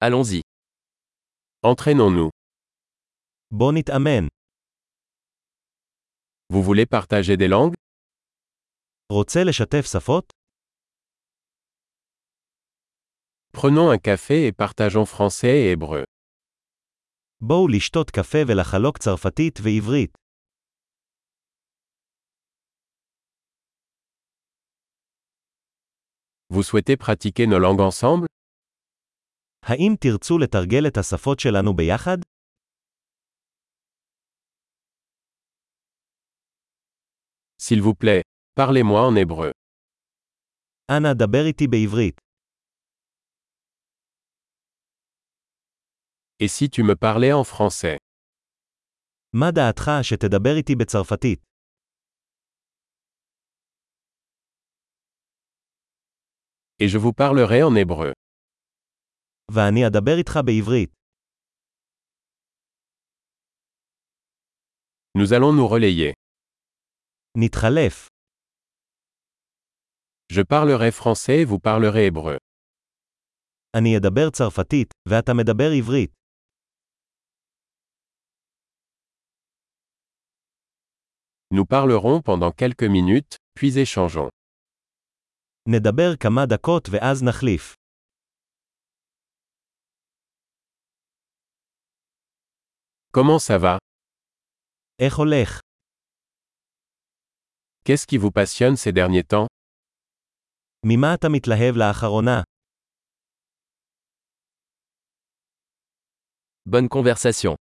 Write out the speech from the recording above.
Allons-y. Entraînons-nous. בוא נתאמן. Vous voulez partager des langues? רוצה לשתף שפות? Prenons un café et partageons français et hébreu. בואו לשתות קפה ולחלוק צרפתית ועברית. Vous souhaitez pratiquer nos langues ensemble? האם תרצו לתרגל את השפות שלנו ביחד? S'il vous plaît, parlez-moi en hébreu. אנא דבר איתי בעברית. Et si tu me parlais en français? מה דעתך שתדבר איתי בצרפתית? Et je vous parlerai en hébreu. ואני אדבר איתך בעברית. Nous allons nous relayer. נתחלף. Je parlerai français et vous parlerez hébreu. אני אדבר צרפתית, ואתה מדבר עברית. Nous parlerons pendant quelques minutes, puis échangeons. נדבר כמה דקות ואז נחליף. Comment ça va? איך הולך? Qu'est-ce qui vous passionne ces derniers temps? ממה אתה מתלהב לאחרונה? Bonne conversation.